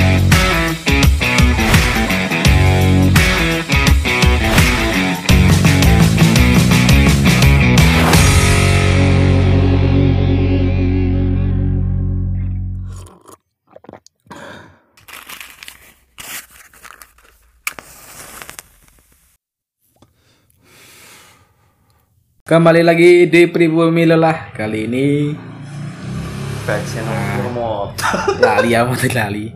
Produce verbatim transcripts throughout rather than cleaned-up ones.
Kembali lagi di Pribumi Lelah. Kali ini Baca nomor lali amat lali.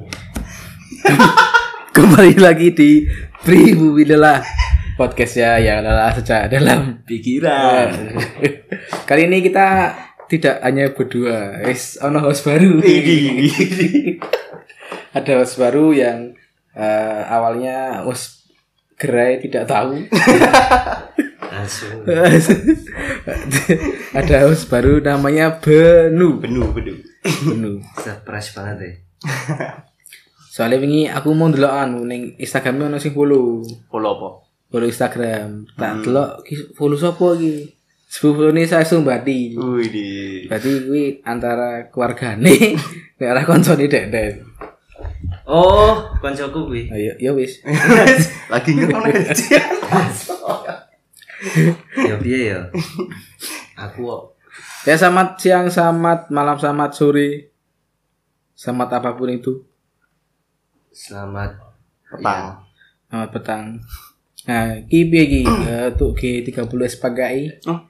Kembali lagi di Pribumi Lelah, podcastnya yang lelah sejak dalam pikiran. Kali ini kita tidak hanya berdua, es ono host baru. Ada host baru yang uh, awalnya host gerai tidak tahu. Ada host baru namanya Benu. Benu, Benu. Benu. Surprise banget deh. Soalnya wingi aku mau ndelokan ning Instagramnya ono sing follow. Follow apa? Follow Instagram. Tak delok ki follow sapa iki? Sepuluhne saya Sumbati. Wih di. Berarti kuwi antara keluargane nek ora koncone Dek-dek. Oh, koncoku kuwi. Ayo, ya wis. Lagi ngerone. Ya piye ya? Aku kok. Ya selamat siang, selamat malam, selamat sore. Selamat apapun itu. Selamat petang. Selamat petang. Nah, ki piye ki untuk G tiga puluh sebagai Oh.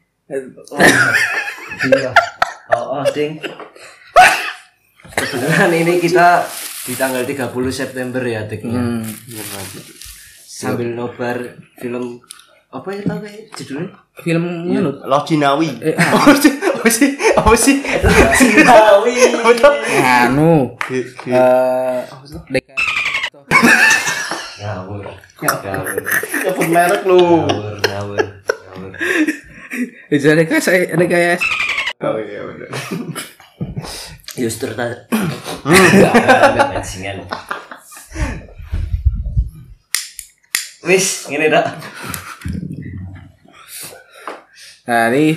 Iya. Oh, oh, ding. Kebetulan ini kita di tanggal tiga puluh September ya, Deknya. Hmm. Sambil nobar film apa ya tau kayak judulnya? Film ngono. Lojinawi. Eh, Apa sih? Apa sih? Apa sih? Lojinawi. Anu. Eh, Deka. Ngawur. Ngawur. Nyebut merek lu. Ngawur, ngawur. Ngawur. Jadi kayak saya ada kayak Oh iya benar. Justru tadi. Enggak bajingan. Wis, ngene dak. Nah, ini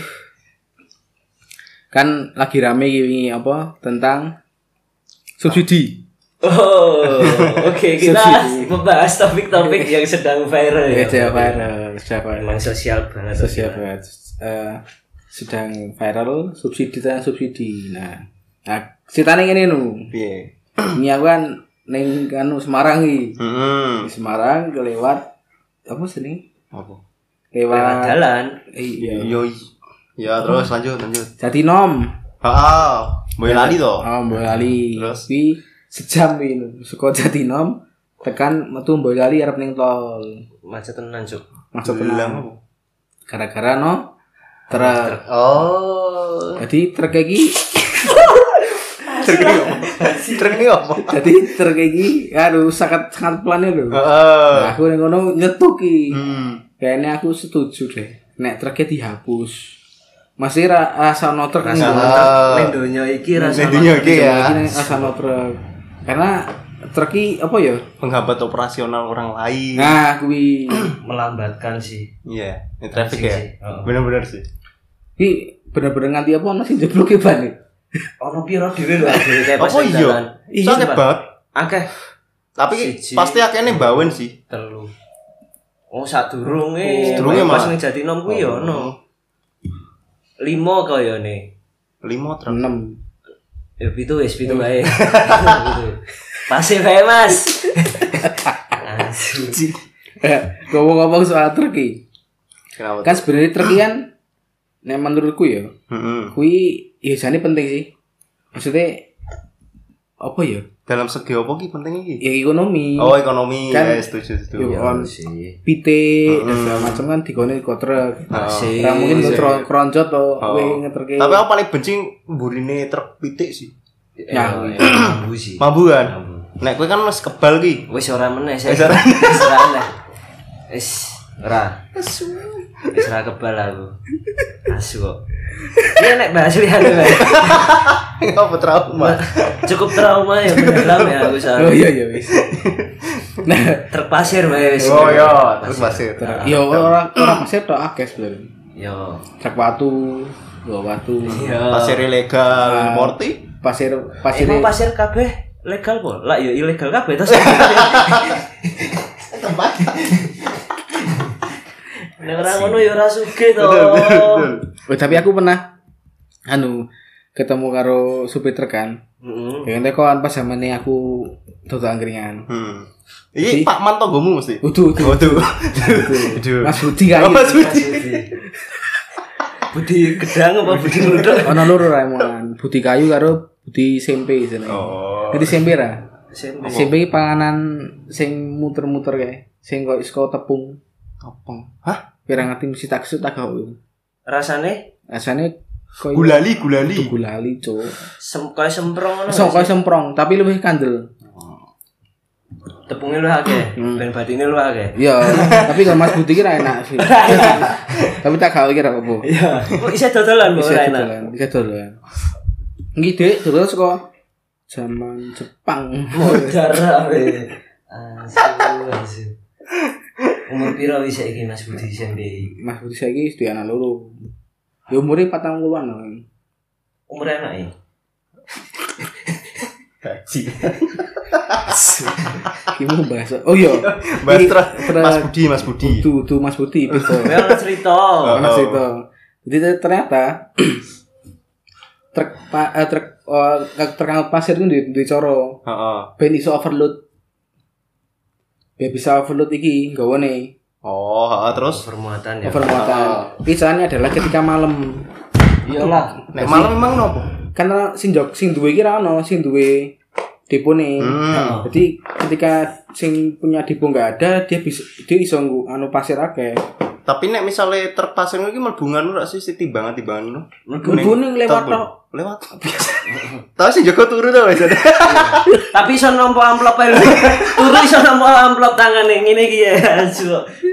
kan lagi rame ini apa tentang subsidi. Oh, oke okay, kita Subsidi. membahas topik-topik yang sedang viral ya. Ya, viral, sudah viral. Memang sosial banget. Sosial banget. Eh, sedang viral subsidi dan subsidi. Nah, nah ceritanya ini nu. Piye? Ini aku kan neng kanu Semarang iki. Heeh. Di Semarang kelewat apa sih nih? Apa? Lewat Lewat jalan. Iya. Yo. Ya terus lanjut lanjut. Jatinom. Heeh. Boy lali to. Oh, Boyolali. Terus? Tapi sejam ini saka Jatinom tekan metu Boyolali arep ning tol. Macet tenan, Cuk. Masuk Bilang tenang. apa? Gara-gara no truk. Oh. Jadi truk iki Truk ini apa? Truk ini apa? jadi truk iki aduh sangat sangat pelan lho. Heeh. Nah, aku ning ngono nyetuk iki. Hmm. Kayaknya aku setuju deh. Nek truknya dihapus. Masih ra asa no truk ning Rasa- ngono. Ah. Ning donya iki Ning rasane donya iki ya. Iki asa no truk. Karena truk iki apa ya? Penghambat operasional orang lain. Nah, kuwi melambatkan sih. Iya, ini traffic Sih, ya. sih. Oh. Benar-benar sih. iki bener-bener nganti apa ono sing jebloke ban iki. Ono piro dhewe lho dhewe kayak pas Apa nang iya? dalan. Sakit banget. Akeh Tapi Siji. pasti akehnya bawen sih. telu. Oh, sadurunge. Sadurunge pas malah. ning Jatinom kuwi ya ono. lima kayane. Lima truk. enam. Ya pitu wis pitu wae. Pitu. Pasif wae, Mas. Asu. Ngomong-ngomong soal truk iki. Kenapa? Kan sebenarnya truk iki kan nek menurutku ya, Heeh. kuwi ya jane penting sih. Maksudnya apa ya? Dalam segi apa ki penting iki? Ya ekonomi. Oh, ekonomi. Kan- Ya, setuju, setuju. Yo, on sih. pitik dan segala macam kan digone kok truk. Masih. Ora mungkin Iya. kro- kronjot to Oh. kowe ngeterke. Tapi aku paling benci mburine truk pitik sih. Ya, mambu sih. Mambu kan? Mambu. Nek kowe kan wis kebal ki. Wis ora meneh saya. Wis ora. Wis ora meneh. Wis ora. Wis ora kebal aku. Asu kok. Iya nek bahas liyane wae. Apa trauma? Cukup trauma ya mendalam ya aku soal. Oh iya iya wis. Nah, Truk pasir wae wis. Oh iya, terus pasir. ya ora ora pasir tok akeh sebenarnya. Yo. Truk watu, bawa watu. Iya. Pasir ilegal, Ah. importi. Pasir pasir Emang pasir kabeh legal po. Lah ya ilegal kabeh terus. Tempat. Nek ora ngono ya ora sugih to. Oh, tapi aku pernah anu ketemu karo supir truk kan. Heeh. Ya nek kon pas zamane aku dodol angkringan. Hmm. Iki Pak Man tonggomu mesti. Udu, udu. Waduh. Mas Budi kan. Mas Budi. Budi gedang apa Budi ngluduk? Ono loro ra emang. Budi kayu karo Budi sempe jenenge. Oh. Jadi sempe ra. Sempe. Sempe iki panganan sing muter-muter kae, sing kok saka tepung. Topong. Hah? Kira ngerti mesti tak kesut tak gak. Rasane Rasane koyo Gulali, gulali. gulali, Cuk. sem kaya semprong ngono. So koyo semprong, tapi luwih kandel. Tepungnya lu akeh, ben batine lu akeh. Iya, tapi kalau Mas Budi kira enak sih. Tapi tak gak kira apa. Iya. Kok isih dodolan kok Bisa ora enak. dodolan, bisa dodolan. Nggih, Dik, dodolan saka zaman Jepang. Modar ae. Asu, asu. Umur piro wis saiki Mas Budi sampe? Mas Budi saiki wis duwe anak loro. Ya umure patang puluhan lho. Umur anake. Gaji. Iki mau bahas. Oh iya. Mas Iki Tra- tra- Mas Budi, Mas Budi. Tuh, tuh Mas Budi betul. Kowe ora cerita. Mas itu. Jadi ternyata truk pa, eh, truk uh, terkangkut pasir itu di di coro. Heeh. Ben iso overload. Biar bisa overload iki nggawane Oh, heeh, terus Permuatan ya. overmuatan. Pisahannya adalah ketika malam. Iyalah. nek malam memang nopo? Karena sing jog sing duwe iki ra ono, sing duwe depone. Hmm. Jadi ketika sing punya depo enggak ada, dia bisa dia iso nggo anu pasir akeh. Tapi nek misale truk pasir iki mlebungan ora sih timbangan-timbangan ngono. Mlebune lewat tok. Lewat. Tahu sih Joko turu to wis. Tapi iso nampa amplop ae. Turu iso nampa amplop tangane ngene iki ya. Asu.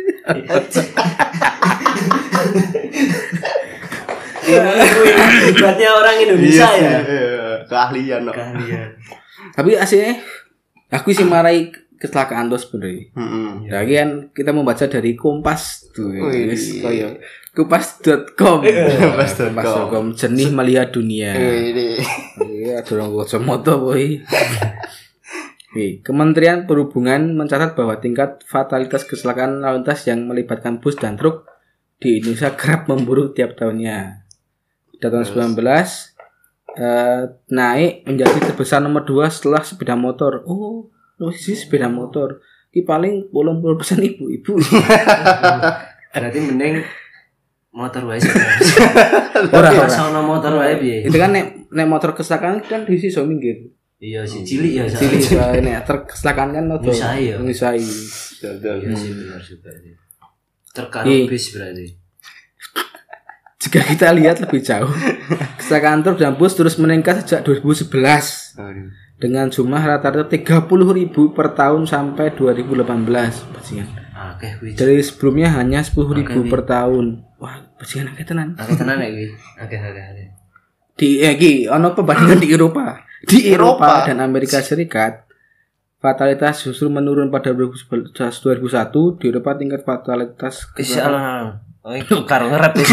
Ya, hebatnya orang Indonesia ya. Iya, keahlian no. Keahlian. Tapi aslinya aku sih marai kecelakaan tuh sebenarnya. Heeh. Ya kan kita membaca dari Kompas tuh. Wih. Wis koyo kompas dot com. Kompas dot com. kompas dot com jernih melihat dunia. Ini. Iya, dorong kacamata boy. Oke, Kementerian Perhubungan mencatat bahwa tingkat fatalitas kecelakaan lalu lintas yang melibatkan bus dan truk di Indonesia kerap memburuk tiap tahunnya. Pada tahun sembilan belas eh, naik menjadi terbesar nomor dua setelah sepeda motor. Oh, posisi sepeda motor. Ki paling delapan puluh persen ibu-ibu. Berarti mending motor wae sih. Ora ora. Sono motor wae piye? Itu kan nek nek motor kecelakaan kan di sisi minggir. Iya sih cilik ya. Cilik wae nek truk kecelakaan kan ojo. Nyusai ya. Nyusai. Iya sih benar juga sih. Terkaro Iya. bis berarti. Jika kita lihat lebih jauh, kecelakaan truk dan bus terus meningkat sejak dua ribu sebelas dengan jumlah rata-rata tiga puluh ribu per tahun sampai dua ribu delapan belas. Bajingan. Akeh kuwi. Dari sebelumnya hanya sepuluh ribu per tahun. Wah, bajingan akeh tenan. Akeh tenan nek kuwi. Akeh akeh akeh. Di eh iki ono perbandingan di Eropa. Di Eropa Eropa. dan Amerika Serikat fatalitas justru menurun pada dua ribu sebelas dua ribu satu. Di Eropa tingkat fatalitas Insyaallah. Oh, itu karo ngerep ya.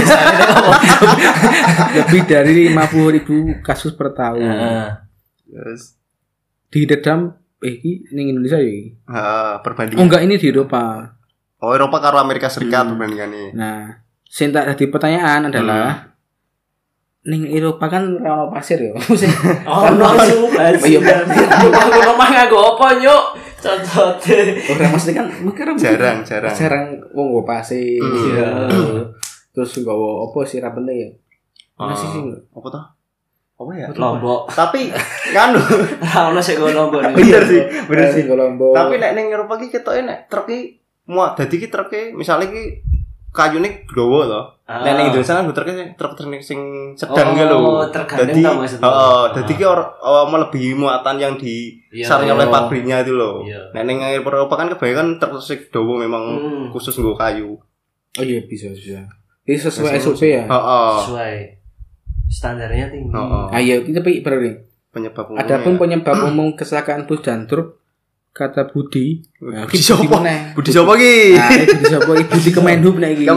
lebih dari lima puluh ribu kasus per tahun. Heeh. Yes. Di dedam eh iki ning Indonesia ya iki. Heeh, Oh perbandingan. enggak, ini di Eropa. Oh, Eropa karo Amerika Serikat perbandingannya. Nah, sing tak dadi pertanyaan adalah ning Eropa kan ora ono pasir ya. Sing Oh, no, Iya, Aku omah nganggo apa, Nyuk? Contote. ora mesti kan mungkin Jarang, jarang. jarang wong nggo pasir. Iya. Terus nggawa apa sih ra penting ya? Masih sih. Apa toh? Apa ya? Lombok. Tapi kan Ora ono sik go lombok. bener sih, bener sih. Lombok. Tapi nek ning Eropa ki ketoke nek truk ki muat dadi ki truk ki misale ki kayune glowo to. Nek ning Indonesia kan truk truk truk sing sedang ki lho. Oh, tergantung tau maksudnya. Heeh, dadi ki or melebihi muatan yang di Iya, sarnya oleh iya. pabriknya itu loh. Iya. Nek ning Eropa kan kebanyakan truk sing dawa memang Hmm. khusus nggo kayu. Oh iya bisa bisa. Ini sesuai S O P ya. Heeh. Sesuai standarnya tinggi. Heeh. Ayo kita pergi berarti. Penyebab umumnya. Adapun penyebab umum kecelakaan bus dan truk kata Budi. Nah, Budi iki siapa? meneh. Budi siapa ki? Nah, iki Budi siapa? Iki Budi Kemenhub nek iki.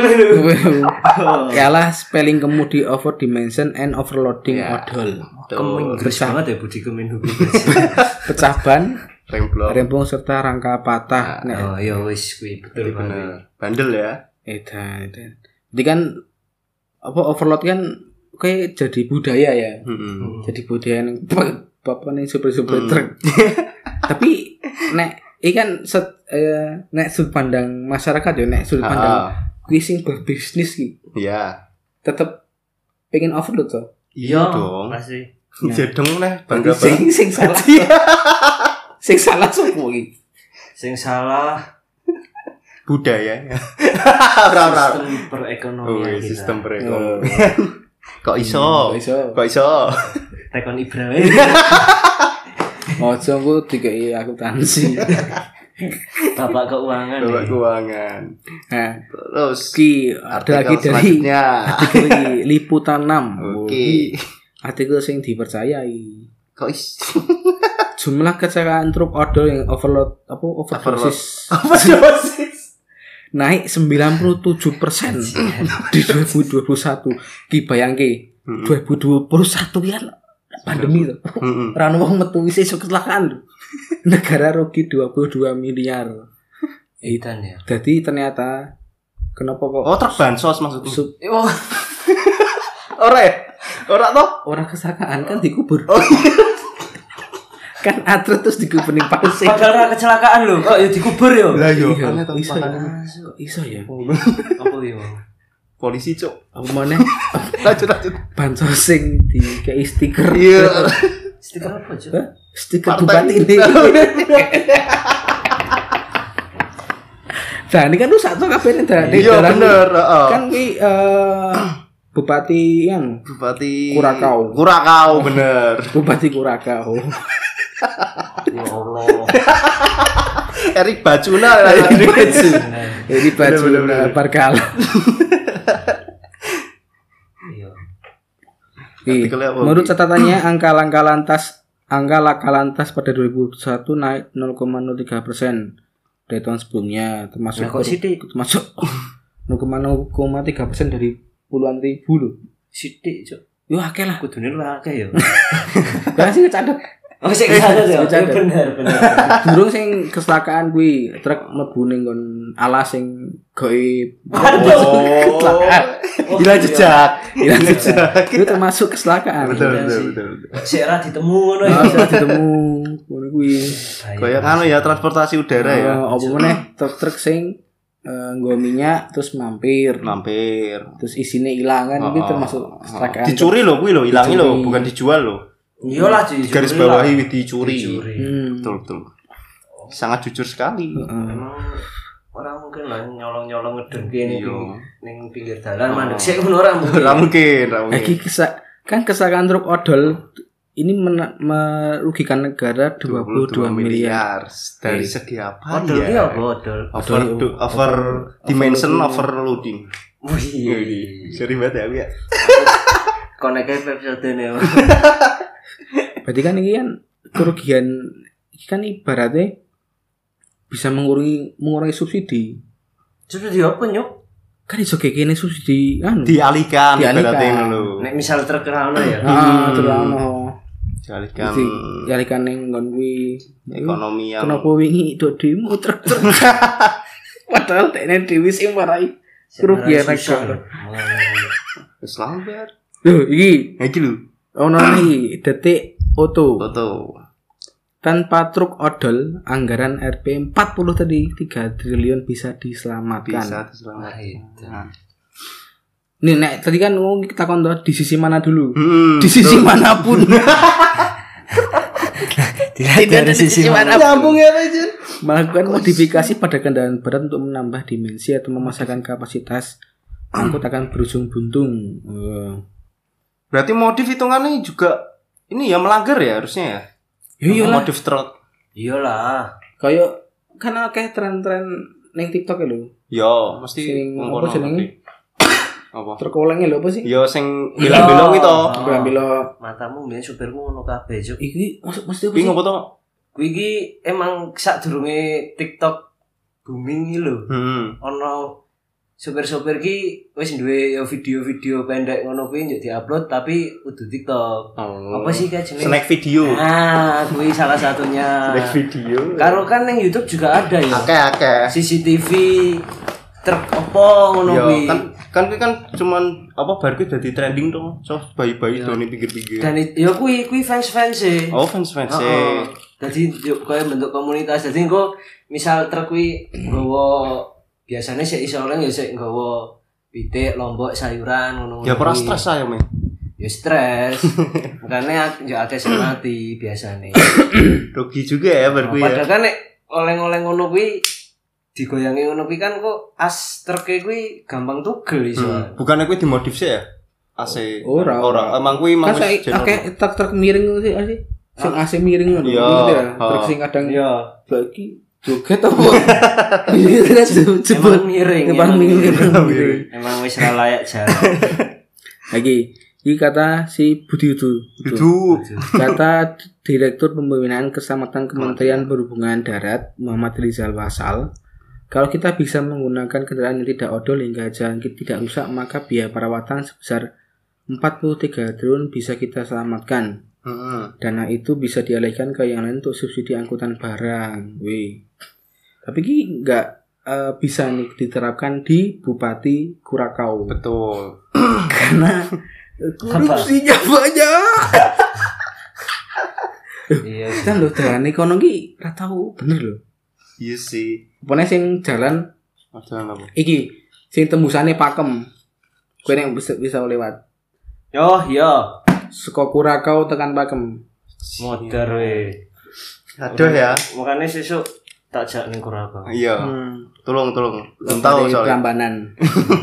Ialah spelling kemudi over dimension and overloading Ya. odol. Kemen Inggris Bersama. banget ya Budi Kemenhub. pecah ban, remblong. remblong serta rangka patah. Nek Oh iya wis kuwi betul Bener. Bandel ya. edan, edan. Jadi kan apa overload kan kayak jadi budaya ya. Heeh. Jadi budaya yang apa nih super-super truk. Tapi nek ikan set eh, nek sudut pandang masyarakat ya nek sudut pandang kuwi sing berbisnis ki. Iya. Tetep pengen overload to. Iya dong. pasti. Jedeng neh bangga Sing banget. sing salah. Sing salah sopo iki? Sing salah Budaya. Ora-ora. sistem perekonomian Oh, kita. sistem perekonomian. Kok iso? Kok iso? Kok iso? Tekon Ibrahim. Ojo ku dikei akuntansi. Bapak keuangan. Bapak nih. keuangan. Nah, Terus ki ada lagi dari selanjutnya. artikel iki Liputan enam. Oke. Artikel sing dipercayai. Kok is Jumlah kecelakaan truk odol yang overload apa overdosis apa dosis? naik sembilan puluh tujuh persen di dua ribu dua puluh satu. Ki bayangke dua ribu dua puluh satu kan pandemi tuh. Heeh. Ora ono wong metu wis iso kecelakaan lho. Negara rugi dua puluh dua miliar. Edan ya. Jadi ternyata kenapa kok Oh, truk bansos maksudnya. sub- Oh, Ora ya? Ora toh? orang kecelakaan kan dikubur. Oh iya. Kan atret terus dikubur ning pasir. padahal ora kecelakaan lho, kok ya dikubur ya. Lah yo, Iya, aneh to iso ya. makanya. Kok iso ya? Apa ya? Polisi, Cuk. Apa maneh Lanjut lanjut. bansos sing dikei stiker. Iya. Stiker apa, Cuk? Hah? Stiker Partai. bupati ini. Nah, ini kan rusak tuh kabeh ning daerah. Iya bener, heeh. Kan ki eh, Bupati yang Bupati Kurakau. Kurakau bener. Bupati Kurakau. Ya Allah. Erik Bacuna lah ini. Jadi baju Bener, bener, bener. Barkal. Iya. Ih, Artikelnya apa, menurut Ki? catatannya angka laka lantas angka laka lantas pada dua ribu satu naik nol koma nol tiga persen dari tahun sebelumnya, termasuk Lah, kok sithik? termasuk nol koma nol tiga persen dari puluhan ribu loh. Sithik, Cuk. Yo akeh lah. Kudune lu akeh ya. Lah sing kecadek. Oh, sing sadar ya. Sing sadar. Bener, bener. Durung sing kecelakaan kuwi truk mlebu ning nggon alas sing goib. Oh. Kecelakaan. Hilang jejak. Hilang jejak. Itu termasuk kecelakaan. Betul Iya betul sih. betul. betul. Sik ora ditemu ngono ya. Nah, saya ditemu ngono kuwi. Kayak anu ya transportasi udara ya. Eh, apa meneh truk-truk sing eh, nggo minyak terus mampir. Mampir. Terus isine ilang kan itu Oh, termasuk oh. kecelakaan. Dicuri loh kuwi loh, ilangi Dicuri. loh, bukan dijual loh. Iyalah dicuri. Garis lah. bawahi dicuri. Dicuri. Hmm. Betul betul. Sangat jujur sekali. Heeh. Emang orang mungkin lah nyolong-nyolong ngedeng kene Iya. ning ning pinggir dalan mandek sik ngono ora mungkin. Ora mungkin, ora mungkin. Lagi kesa- kan kecelakaan truk odol ini mena- merugikan negara dua puluh dua miliar. Dari Eh. segi apa Odol ki ya? apa odol? Over Odol- over dimension overloading. Wih. Seri banget ya, Wi, ya. Koneke episode ne. Berarti kan ini kan kerugian ini kan ibaratnya bisa mengurangi mengurangi subsidi. Sudah di apa nyuk? Kan iso kekene subsidi anu. Dialihkan Dialihkan. ibaratnya ngono lho. Nek misal terkenal ya. Ah, terus ono. Dialihkan Jadi dialihkan ning nggon kuwi. ekonomi yang Kenapa wingi do demo truk-truk. Padahal tekne dhewe sing marai kerugian negara. wis lambat. Lho, iki Ha iki lho. ono iki detik oto. Foto. Tanpa truk odol, anggaran R P empat puluh tadi tiga triliun bisa diselamatkan. Bisa Wah, diselamatkan. itu. Nah. Nih, nek tadi kan ngomong kita kon di sisi mana dulu? Hmm, Di sisi betul. manapun. Tidak ada sisi mana. Nyambung ya, Jen. Melakukan modifikasi pada kendaraan berat untuk menambah dimensi atau memasangkan kapasitas angkut akan berujung buntung. Oh. Berarti modif hitungannya juga ini ya melanggar ya harusnya ya. Ya iyalah. Modif truk. Iyalah. Kayak kan akeh tren-tren ning TikTok ya lho. Ya, mesti Sing ngono apa jenenge? ngerti. Apa? Truk olenge lho apa sih? Ya sing bilang-bilang itu. Oh. Bila-bila Matamu mbiyen supirku ngono kabeh, Cuk. iki maksud mesti apa Kuwi sih? ngopo to? Kuwi iki emang sadurunge TikTok booming iki lho. Hmm. Ono sopir-sopir ki wis duwe ya video-video pendek ngono kuwi njek diupload tapi kudu TikTok. Oh. Apa sih kayak jenenge? Snack video. Ah, kuwi salah satunya. Snack video. Karo kan ning YouTube juga ada ya. Akeh-akeh. C C T V truk apa ngono kuwi. Kan kan kuwi kan cuman apa bar kuwi dadi trending to. So bayi-bayi done pinggir-pinggir. Dan ya kuwi kuwi fans-fans e. Oh, fans-fans e. Dadi yo koyo bentuk komunitas. Dadi engko misal truk kuwi nggawa biasanya sih iso orang ya sih nggawa pitik, lombok, sayuran ngono. Ya ora stres ae, Men. Ya stres. Makanya ya akeh sing mati biasane. Rugi juga ya bar kuwi ya. Padahal kan nek oleh-oleh ngono kuwi digoyangi ngono kuwi kan kok as truk kuwi gampang tugel iso. Hmm. Bukannya kuwi dimodif sih ya? A C. Ora. Ora. Emang kuwi emang wis akeh truk-truk miring sih sih. Sing A C miring ngono. Iya. Truk sing kadang ya bagi joget apa? Ini kan jebol miring. Depan miring. Emang wis ra layak jalan. Lagi, ini kata si Budi Udu. Itu. Kata Direktur Pembinaan Keselamatan Kementerian Perhubungan Darat Muhammad Rizal Wasal, kalau kita bisa menggunakan kendaraan yang tidak odol hingga jalan tidak rusak, maka biaya perawatan sebesar empat puluh tiga triliun bisa kita selamatkan. Heeh. Dana itu bisa dialihkan ke yang lain untuk subsidi angkutan barang. Wih. Tapi ini nggak uh, bisa nih diterapkan di Bupati Kurakau. Betul. Karena korupsinya banyak. Iya. Kan lho jalan kono ki ora tau bener lho. Iya sih. Apa sing jalan Jalan apa? iki sing tembusane Pakem. Kowe nek bisa, bisa lewat. Yo, yo. Saka Kurakau tekan Pakem. Modar we. Aduh ya. Makane sesuk tak jak ning Kurakau. Iya. Hmm. Tolong tolong. Belum tahu soalnya. Prambanan.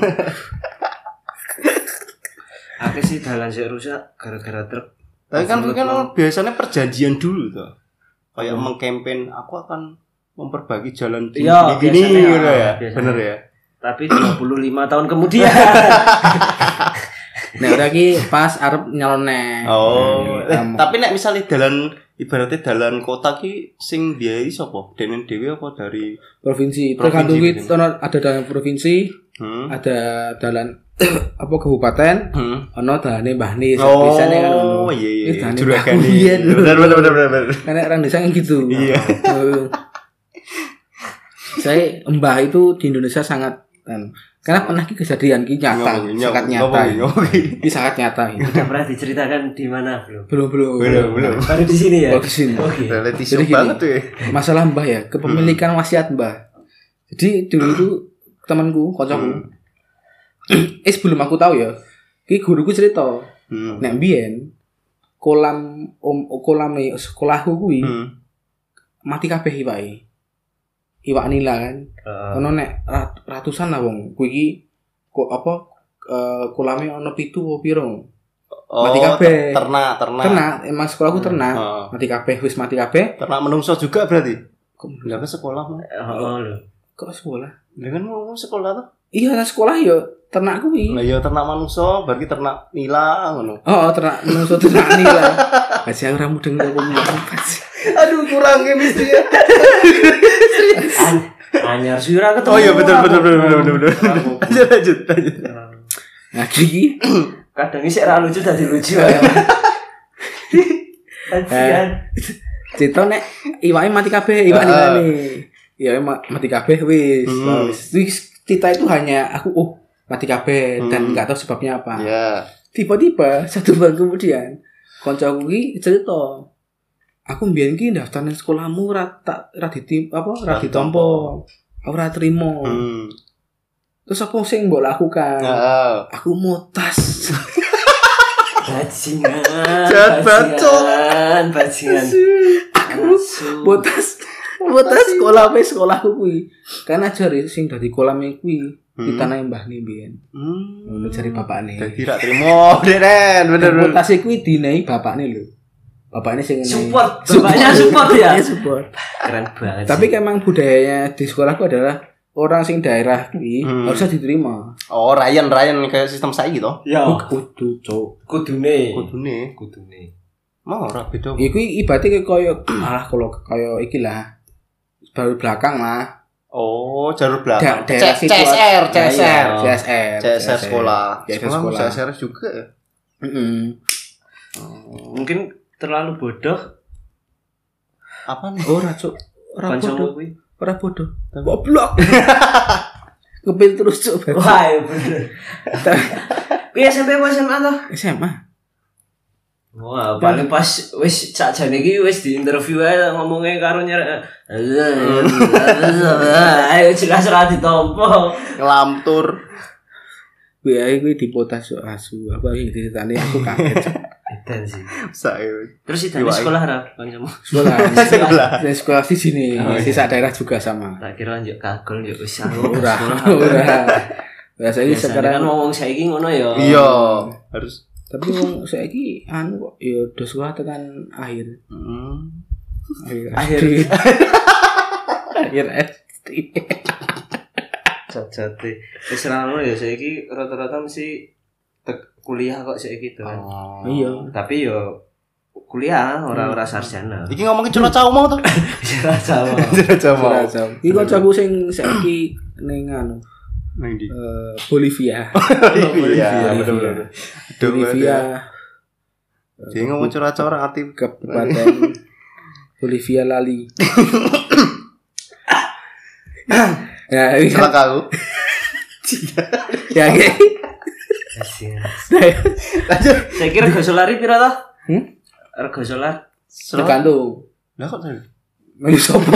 Akeh sih dalan sik rusak gara-gara truk. Tapi kan kan biasanya perjanjian dulu tuh. Kayak hmm. mengkampen aku akan memperbaiki jalan di ya, gini gitu ya. Biasanya. Bener ya. Tapi dua puluh lima tahun kemudian. Nah, udah ki pas arep nyalone. Oh. Eh, tapi nek misalnya dalan ibaratnya dalan kota ki sing biayai sapa? Denen dhewe apa dari provinsi? Tergantung ki ada dalan provinsi, hmm. ada dalan apa kabupaten, hmm. ono dalane Mbah Nis. Oh, biasane kan ono. Oh iya iya. Juragan. Benar benar benar benar. Karena orang desa kan gitu. Iya. Saya Mbah itu di Indonesia sangat kan. Karena pernah ki kejadian ki nyata, sangat nyata. Ini sangat nyata. Sudah pernah diceritakan di mana belum? Belum belum. Belum belum. Baru di sini ya. Oh, di sini. Oke. Reality show banget tuh ya. Masalah Mbah ya, kepemilikan wasiat Mbah. Jadi dulu itu temanku, kancaku. Hmm. Eh sebelum aku tahu ya, ki guruku cerita. Hmm. Nek mbiyen kolam om kolame sekolahku kuwi hmm. mati kabeh iwake. Iwak nila kan. Uh. Ono nek ratusan lah wong. Kuwi iki kok apa uh, kolame ono pitu apa piro? Oh, mati kabeh. Ternak, ternak. Ternak, emang sekolahku ternak. Uh. Mati kabeh, wis mati kabeh. Ternak menungso juga berarti. Kok lha sekolah mah? Heeh lho. Kok sekolah? Lah kan mau sekolah tuh. Iya, nah sekolah ya ternak kuwi. Lah ya ternak manungsa, berarti ternak nila ngono. Oh, ternak manungsa ternak nila. Aja ora mudeng kok ngomong. Aduh, kurang chemistry ya. Anyar sira ketemu. Oh iya betul betul betul betul betul. Lanjut lanjut lanjut. Nah, iki kadang isih ra lucu dadi lucu ya. Ajian. Cerita nek iwake mati kabeh, iwak nilane. Ya mati kabeh wis. Wis cerita itu hanya aku oh mati kabeh dan enggak tahu sebabnya apa. Iya. Tiba-tiba satu bulan kemudian kancaku iki cerita aku mbiyen ki daftar nang sekolahmu ora tak ora ditim apa ora ditampa. Ora trimo. Hmm. Terus apa sing mbok lakukan? Heeh. Aku mutas. Bajingan. Bajingan, bajingan. Aku mutas. Mutas sekolah wis sekolahku kuwi. Kan ajare sing dadi kolame kuwi ditanahi Mbah Nimbian. Hmm. Ngono jare bapakne. Dadi ra trimo, Deren, bener. Mutas kuwi dinehi bapakne lho. Bapaknya sing support, bapaknya support ya. Iya support. Keren banget. Tapi memang budayanya di sekolahku adalah orang sing daerah kuwi hmm. harusnya diterima. Oh, Ryan Ryan kayak sistem saiki to? Ya. Kudu, Cuk. Kudune. Kudune, kudune. Mau ora beda. Iku ibate koyo alah kalau koyo iki lah. Baru belakang lah. Oh, jalur belakang. Da- daerah C- situ- CSR, Ya, iya, CSR. C S R, C S R sekolah. C S R Sekolah sekolah. C S R juga ya. Heeh. Mungkin terlalu bodoh Apa nih? Ora cuk, ora kancamu bodoh. kuwi. Ora bodoh. Goblok. Kepil terus cuk. Wah, iya bener. Kuwi S M P apa S M A toh? S M A. Wah, paling pas wis sakjane iki wis di interview ae ngomongnya karo nyer. Ayo jelas ra ditompo. Ngelamtur. Kuwi ae kuwi dipotas cuk asu. Apa iki ceritane aku kaget. Cuk. Edan sih. Saya. Terus itu di sekolah ra kancamu? Sekolah. Sekolah. Di sekolah di sini, Oh, di sak daerah juga sama. Tak kira njuk kagol njuk wis aku Ora, sekolah. ora. Biasanya Biasanya kan sekarang ngomong saiki ngono ya. Iya, harus. tapi wong saiki anu kok ya do sekolah tekan akhir. Hmm. Akhir. Akhir. Akhir S D. Jajate. Wis ra ngono ya saiki rata-rata mesti tek- kuliah kok saiki to. Oh. Iya. Tapi yo kuliah ora-ora sarjana. Iki ngomongin curhat cau mau tuh. Ora Jawa. Curhat cau mau. Ora jauh. Iki kancaku sing saiki ning anu Nang ndi? eh, Bolivia. Iya, bener-bener. Bolivia. Dia ngomong curhat cau ora arti Kabupaten Bolivia Lali. Ya, ini kan. celaka aku. Ya, ini. Kasihan. Lanjut. Saya kira rego solar piro toh? Hmm? Rego solar Tergantung. Lah kok saya? Milih sopo.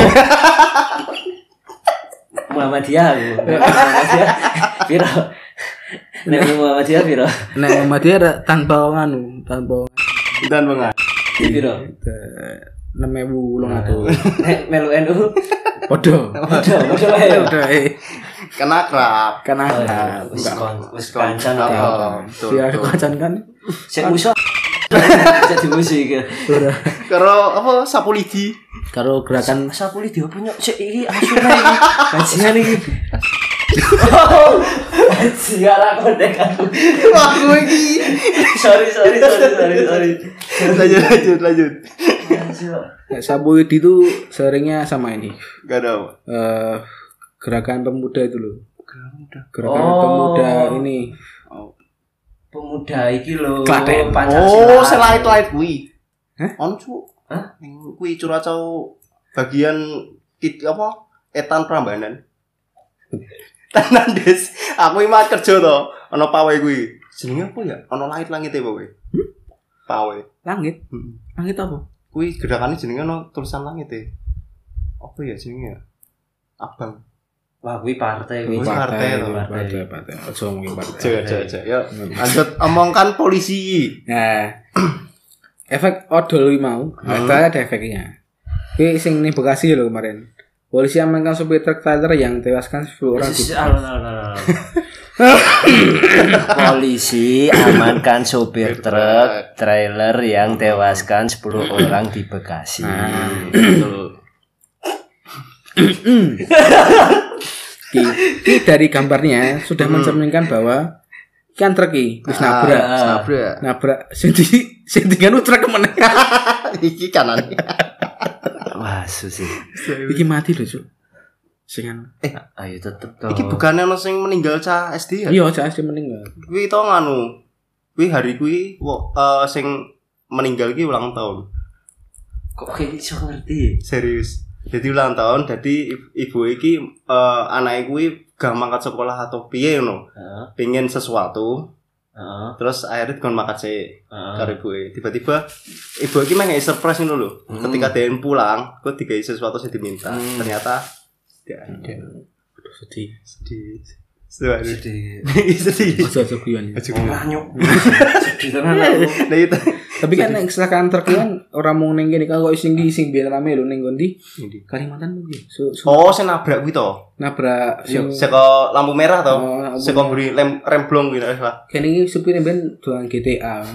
Muhammadiyah aku. Muhammadiyah piro? Nek Muhammadiyah piro? Nek Muhammadiyah ada tanpa nganu, tanpa Dan bang. Piro? enam ribu ulung atuh. Nek melu N U. Podo. Podo, podo wae. Podo eh. Kena akrab. Kan ada. Wis Enggak. kon, wis kancan Oh, ta. betul, Biar betul. kacan kan. Sing musuh. Jadi musuh iki. Ora. Karo apa sapu lidi. Karo gerakan Sapu li diopo nyok sik iki asune iki. Bajingan iki. Oh, bajingan aku dek aku. Wah, gue iki. Sorry, sorry, sorry, sorry, sorry. Lanjut, lanjut, lanjut. Nek sapu lidi itu seringnya sama ini. Gak ada. Eh gerakan pemuda itu loh. Gerakan Oh. pemuda ini. Pemuda iki lho. Klaten. Oh, selait-lait kuwi. Hah? On cu. Hah? Ning kuwi curacau bagian kit apa? Etan Prambanan. Tenan Des. Aku iki mah kerja to. Ana pawe kuwi. Jenenge apa ya? Ana langit langite apa kuwi? Hmm? Pawe. Langit. Hmm. Langit apa? Kuwi gerakane jenenge ana tulisan langit e. Apa ya jenenge? Abang. Wah, kuwi partai kuwi. Kuwi partai to. partai, partai. Ojo ngomongin partai. Aja aja aja. Ya, lanjut omongkan polisi. Nah, efek odol iki mau, Hmm. ada ada efeknya. Ini sing ning Bekasi lho kemarin. Polisi amankan supir truk trailer yang tewaskan sepuluh orang. Sis- alo, alo, alo. Polisi amankan sopir truk trailer yang tewaskan sepuluh orang di Bekasi. Nah, Betul. Ki, ki dari gambarnya sudah mencerminkan bahwa kan truk iki wis nabrak. Ah, nabrak. Nabrak sing di sing tinggal truk kemana? Iki kanan. Wah, susi. Iki mati lho, Cuk. Sing anu. Ayo tetep to. Iki bukannya ono sing meninggal cah S D ya? Iya, cah S D meninggal. Kuwi to nganu. Kuwi hari kuwi wo- eh, sing meninggal iki ulang tahun. Kok kayak iso ngerti? Serius. Jadi ulang tahun, jadi ibu, ibu iki eh, anake kuwi gak mangkat sekolah atau piye ngono. Heeh. Pengen sesuatu, Heeh. terus akhirnya kon mangkat sih Heeh. karo ibuke. Tiba-tiba ibu iki meh ngasih surprise ngono lho. Hmm. Ketika dia pulang, kok digawe sesuatu sing diminta. Hmm. Ternyata tidak ada. Aduh, sedih. Sedih. Sedih. Sedih. Sedih. Ojo ojo guyon. ya. Ora nyuk. Sedih tenan aku. Nah itu. Tapi kan nek kecelakaan truk kan ora mung ning kene kan kok sing di sing biyen rame lho ning ngondi Kalimantan mungkin. So, so, Oh, sing nabrak kuwi to. nabrak sing Seko lampu merah to. Oh, lampu Seko mburi lem remblong kuwi nek salah. kene iki supire ben doang G T A.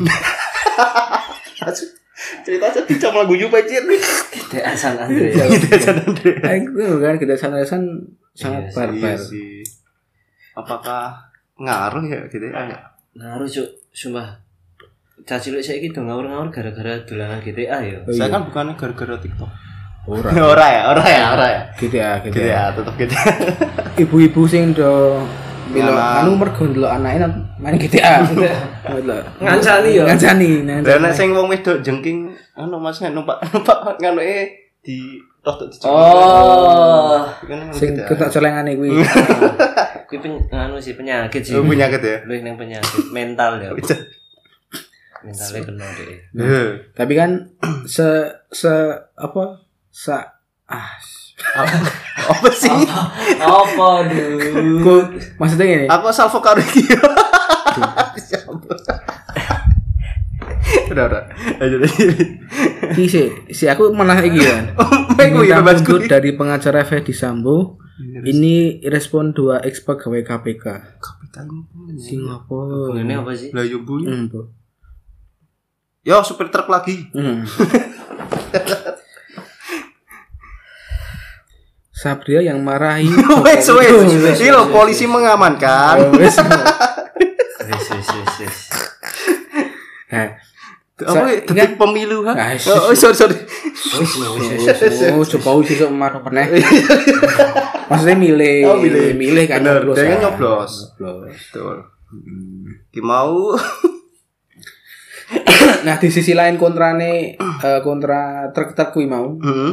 Cerita aja dicam lagu yu pacir. Dek San Andre. Aku kan kita sana-sana sangat Iya sih, barbar. sih. Apakah ngaruh ya gitu ya? Ngaruh cuk, sumpah. Cah cilik saiki do ngawur-ngawur gara-gara dolanan G T A ya. Oh, Saya iya. kan bukannya gara-gara TikTok. Ora. Ora ya, ora ya, ora ya. G T A, G T A. Gitu ya, tetep gitu. Ibu-ibu sing do milo Ngalah. anu mergo ndelok anake nang main G T A. Ndelok. Ngancani ya. Ngancani. Lah nek sing wong wedok jengking anu Mas numpak numpak nganuke di rodok dijengking. Oh. Sing ketok celengane kuwi. Kuwi pen, anu sih penyakit sih. Oh, penyakit ya. Luwih ning penyakit mental ya. Mentalnya kena deh. Heeh. Tapi kan se se apa? Sa ah Apa sih? Apa duh? Ku, maksudnya gini. Aku asal vokal iki. Udah, udah. Ayo Ki si, si aku malah iki kan. Mengko ya Minta bebas mundur dari pengacara Ferdi Sambo. Ini respon dua ex pegawai K P K. Singapura. Ini apa sih? Lah yo bunyi. Hmm, Bu. Yo supir truk lagi. Hmm. Sabria yang marahi. Wes wes. Iki lho polisi mengamankan. Wes. Wis wis wis wis. Nah, Apa detik pemilu ha? Ah, Oh sorry sorry. Wis wis. oh, coba uji sok marah pernah. Maksudnya milih, Oh, milih. milih kan Bener, nyoblos. dia kan kan. nyoblos. Nyoblos. Betul. Ki mau Nah, di sisi lain kontrane eh, kontra truk-truk kuwi mau. Heeh.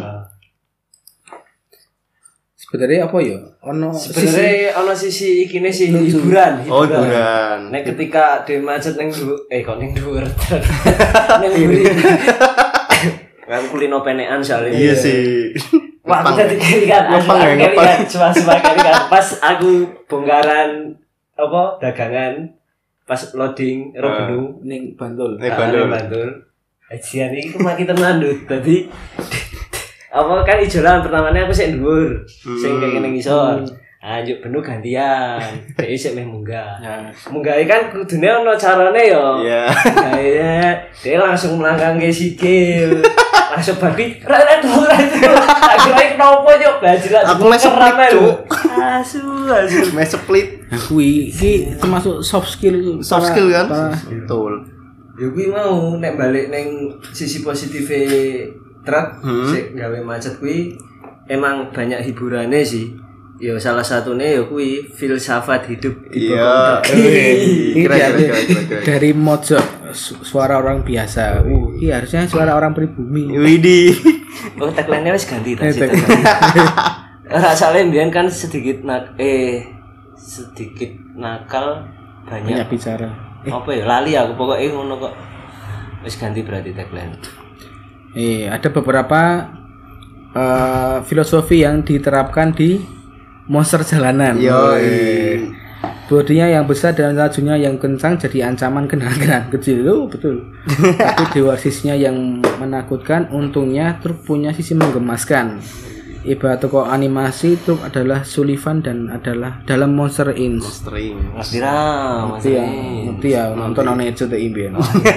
Sebenarnya apa ya? Ono Sebenarnya ono sisi ikine sih Lucu. hiburan. Oh, hiburan. Nek ketika dhewe macet ning dhuwur, eh kok ning dhuwur. Ning mburi. Kan kulino penekan soalnya. Iya sih. Wah, aku tadi kali kan, Ngepang ya, kali ngepang. kan, cuma-cuma kali kan. Pas aku bongkaran apa dagangan, pas loading Robenu, ning Bantul. Ning ah, Bantul. ning Bantul. Ajian ini aku makin tenan lho. Dadi apa kan ijolan pertamanya aku sik dhuwur, sing kayak ngene ngisor. Ah, njuk benu gantian. Dhewe sik meh munggah. Ya. Munggah kan kudune ana carane ya. Iya. Kayaknya dia langsung melangkang ke sikil. Langsung babi, rak dulu tak kira kenapa yuk baju lah. Aku meh split, Cuk. Asu, asu. Mes split Nah, kuwi iki termasuk soft skill. soft para- skill kan? para- Betul. Ya kuwi mau nek balik neng sisi positif truk Hmm. sik gawe macet kuwi emang banyak hiburannya sih. Ya salah satunya ya kuwi filsafat hidup di Iya. bawah. Ini Kira, kira, dari, kira, kira, kira. dari mojok su- suara orang biasa. Uh, ini harusnya suara orang pribumi. Widih. Oh, tagline-nya wis ganti Eh, tadi. tagline. Ora soalnya mbiyen kan sedikit nak eh sedikit nakal banyak, Banyak bicara. Eh, apa ya lali aku pokoknya ngono kok. Wis ganti berarti tagline. eh ada beberapa eh, filosofi yang diterapkan di monster jalanan. Yo. Eh, Bodinya yang besar dan lajunya yang kencang jadi ancaman kendaraan kecil. Oh, betul. Tapi dewarsisnya yang menakutkan, untungnya truk punya sisi menggemaskan. Ibarat toko animasi, truk adalah Sullivan dan adalah dalam Monster Inc. String. Mas Dira, Mas Ngerti ya, Dira. ngerti ya, nonton nonton itu tuh impian.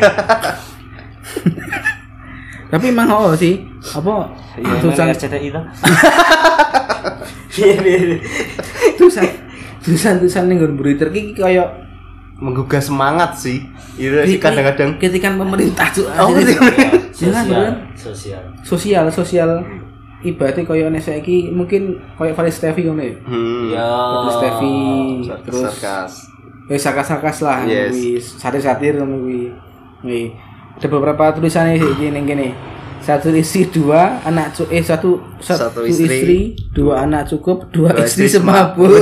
Tapi emang oh sih, apa Ya, tulisan R C T I to. Iya, iya. tulisan tulisan tulisan ning nggon berita iki kayak Menggugah semangat sih. Iya sih kadang-kadang. kritikan pemerintah tuh. Oh, asli. Sosial, Jangan, beneran. sosial. Sosial, sosial ibaratnya kayak nek saiki mungkin kayak Valis Tevi ngono ya. Hmm. Ya. Valis Tevi terus Sarkas. eh sakas-sakas lah Yes. kuwi satir-satir ngono kuwi. Kuwi. Ada beberapa tulisannya sih ning kene. Satu istri dua anak cu eh satu satu, Satu istri, istri, dua anak cukup, dua, dua istri istri semabut.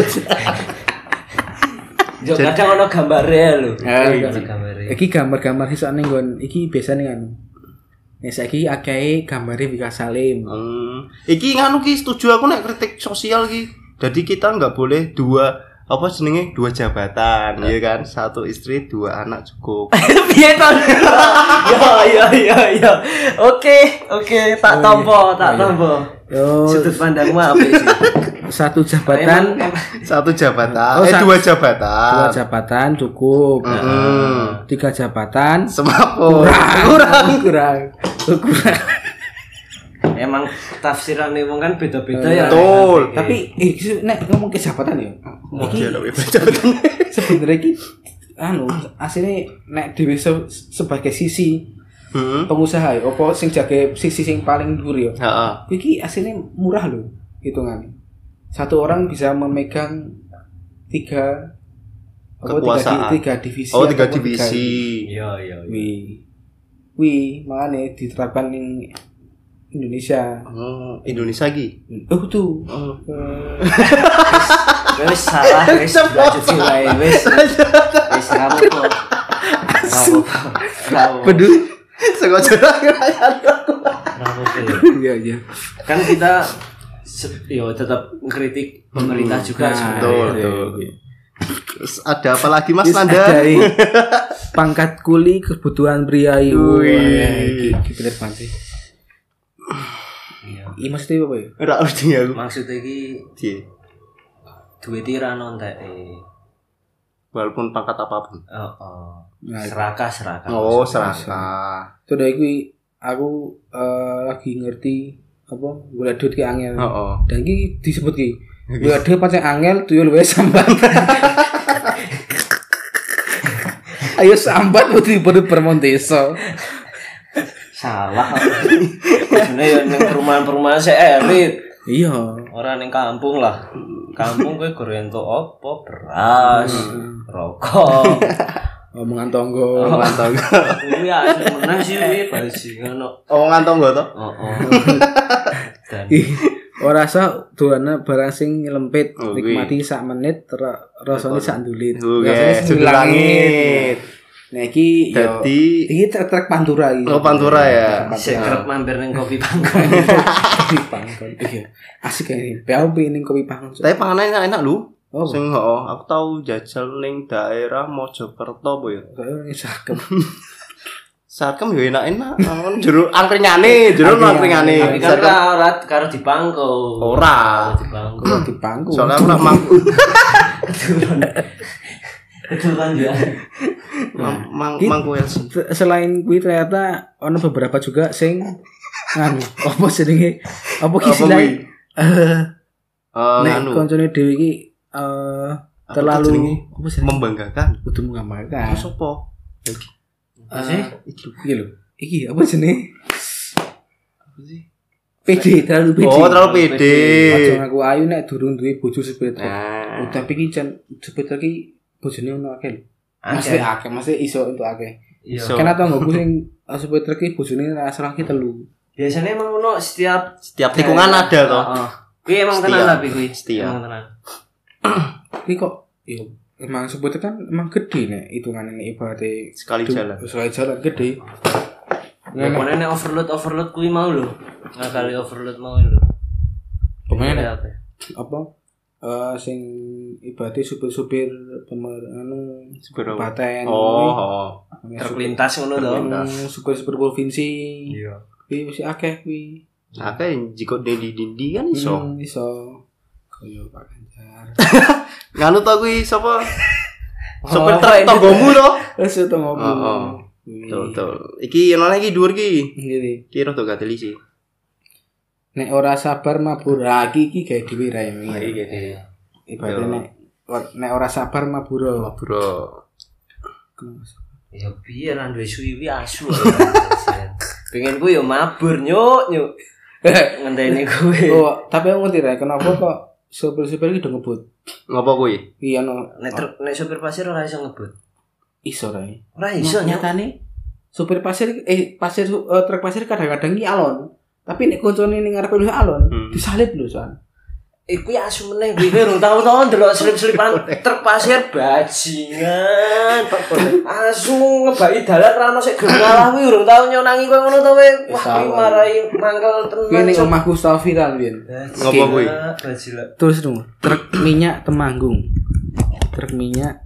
Jo kadang ono gambare lho. Ah, Ono iki- gambare. Iki gambar-gambar sisa ning nggon iki biasane kan. Nek saiki akeh gambare Wika Salim. Hmm. Iki nganu ki setuju aku nek kritik sosial ki. Jadi kita nggak boleh dua apa jenenge dua jabatan, ya kan? Satu istri, dua anak cukup. Piye to? Yo yo yo yo. Oke, oke, tak tampa, tak tampa. Yo, Sudut pandangmu apa sih? satu jabatan, Emang- emang- Satu jabatan, Oh, eh sa- dua jabatan. dua jabatan cukup. Hmm. Tiga jabatan Semaput. kurang, kurang, kurang. Emang tafsirannya wong kan beda-beda ya. Betul. Tapi eh nek ngomong ke jabatan ya. Iki Iya, tapi jabatan. sebenarnya iki anu asline nek dhewe se- sebagai sisi Heeh. pengusaha ya, apa sing jage sisi sing paling dhuwur ya. Heeh. Iki aslinya murah loh hitungannya. Satu orang bisa memegang tiga apa, Kekuasaan. tiga, tiga divisi. Oh, tiga ataupun divisi. Iya iya. iya. Wi, wi, makanya diterapkan di Indonesia. Oh, Indonesia lagi. Oh tuh. Oh. Eh, Wis salah wis lanjut sih wae wis. Wis rapo kok. Rapo. Rapo. peduli. Sengaja ngerayain. Rapo kok. Iya iya. Kan kita se- yo tetap ngkritik pemerintah juga Nah, sebenarnya. Betul, iya, betul. iya. Terus ada apa lagi Mas Terus Nanda? ada ini, pangkat kuli kebutuhan pria. Wih. Wih, iki bener banget sih. Iya. Ini maksudnya apa ya? Ora ngerti aku. Maksudnya iki Piye? duwe tiran onteke. Walaupun pangkat apapun. Heeh. Nah, Serakah serakah. Oh, serakah. itu dari aku aku eh, lagi ngerti apa gula duit ki angel. Heeh. Dan iki disebut ki gula duit pancen angel tuyul wae sambat. Ayo sambat putri putri permonteso. Salah. Sebenarnya ya ning perumahan-perumahan sik elit. Iya. Ora ning kampung lah. Kampung kowe goro entuk apa? Beras, rokok. Omongan tonggo. Mantap. Kuwi asli menang sih kuwi bajingan kok. Omongan tonggo to? Heeh. Dan Ih, ora rasa dolane barang sing lempit, Oh, nikmati sak menit ra- rasane sak ndulit. Oke, Rasane sudut langit. Nah iki yo Dadi iki trek-trek Pantura iki. Oh, Pantura ya. sik kerep mampir ning kopi pangkon. Kopi pangkon. Iya. Asik kayak P O P ning kopi pangkon. tapi panganan enak-enak lho. Oh, Sing heeh, aku tahu jajal ning daerah Mojokerto apa ya. kayak sakem. Sarkem yo enak-enak. Nang jero angkringane, jero angkringane. Tapi kan ora ora karo dipangko. Ora. Dipangko. Di pangku. Soalnya aku nak mang Itu kan ya. mang mang Ki- mangku ya. Selain kuwi ternyata ono beberapa juga sing nganu apa jenenge? Apa ki Apa istilahnya? kuwi? Eh, Eh nek nganu koncone dhewe iki eh Apa terlalu jenenge? apa sih? membanggakan. Kudu menggambarkan. Terus apa? Lagi. Eh, sih? iki lho. Iki apa jenenge? Pede, terlalu pede. Oh, terlalu pede. Aja ngaku ayu nek durung duwe bojo sepeda. Nah. Oh, tapi iki jan sepeda iki bojone ono akeh lho. Akeh. Mesti akeh, mesti iso untuk akeh. Iya. So- Kan atau nggo sing uh, sepeda iki bojone rasa lagi telu. Biasanya emang ono setiap Setiap tikungan ada toh. Heeh. Kuwi emang Setia. tenan tapi kuwi. Setia. Emang tenan. Iki kok yo emang sepeda kan emang gede nek hitungane nek ibaratnya Sekali du- jalan. Sekali jalan gede. Ya Nek- pokoknya nek overload overload kuwi mau lho. Ngakali overload mau lho. Pokoknya apa? apa eh sing ibaratnya supir-supir pemer anu Supir apa? Kabupaten Oh, oh. Terlintas ngono to. Terlintas. supir-supir provinsi Iya. kuwi mesti akeh kuwi. Akeh jika dindi dindi kan iso. Hmm, iso kaya Pak Ganjar. Nganu to kuwi sapa? Oh, Sopir apa truk ini? tonggomu to. Wis itu ngomong. Oh, oh. Betul, betul. Iki ono lagi dhuwur ki. Ngene. Ki rada gateli sih. Nek ora sabar mabur lagi iki gawe dhewe ra ini. Iki gede. Ibaratnya Yo. nek nek ora sabar mabur. Bro. Ya biar nang duwe suwi asu. Pengen ku yo mabur nyuk nyuk. Ngenteni kuwi. Oh, tapi aku ngerti ra kenapa kok supir-supir iki do ngebut. Ngopo kuwi? Iya no. Nek truk nek supir pasir ora iso ngebut. Iso ra. Ora iso nyuk. Nyatane supir pasir eh pasir eh, truk pasir kadang-kadang iki alon. Tapi nek koncone ning ngarepe lu alon, Hmm. disalip lho soal. Iku ya asu meneh kuwi kowe urung tau-tau ndelok selip-selipan truk pasir bajingan. Asu ngebaki dalan ra ono sik gelem ngalah kuwi urung tau nyonangi kowe ngono to kowe. Wah, kuwi marai mangkel Kuwi tenan. ning Cuk. omahku tau viral biyen. Ngopo kuwi? Bajila. Terus dong, truk minyak Temanggung. Truk minyak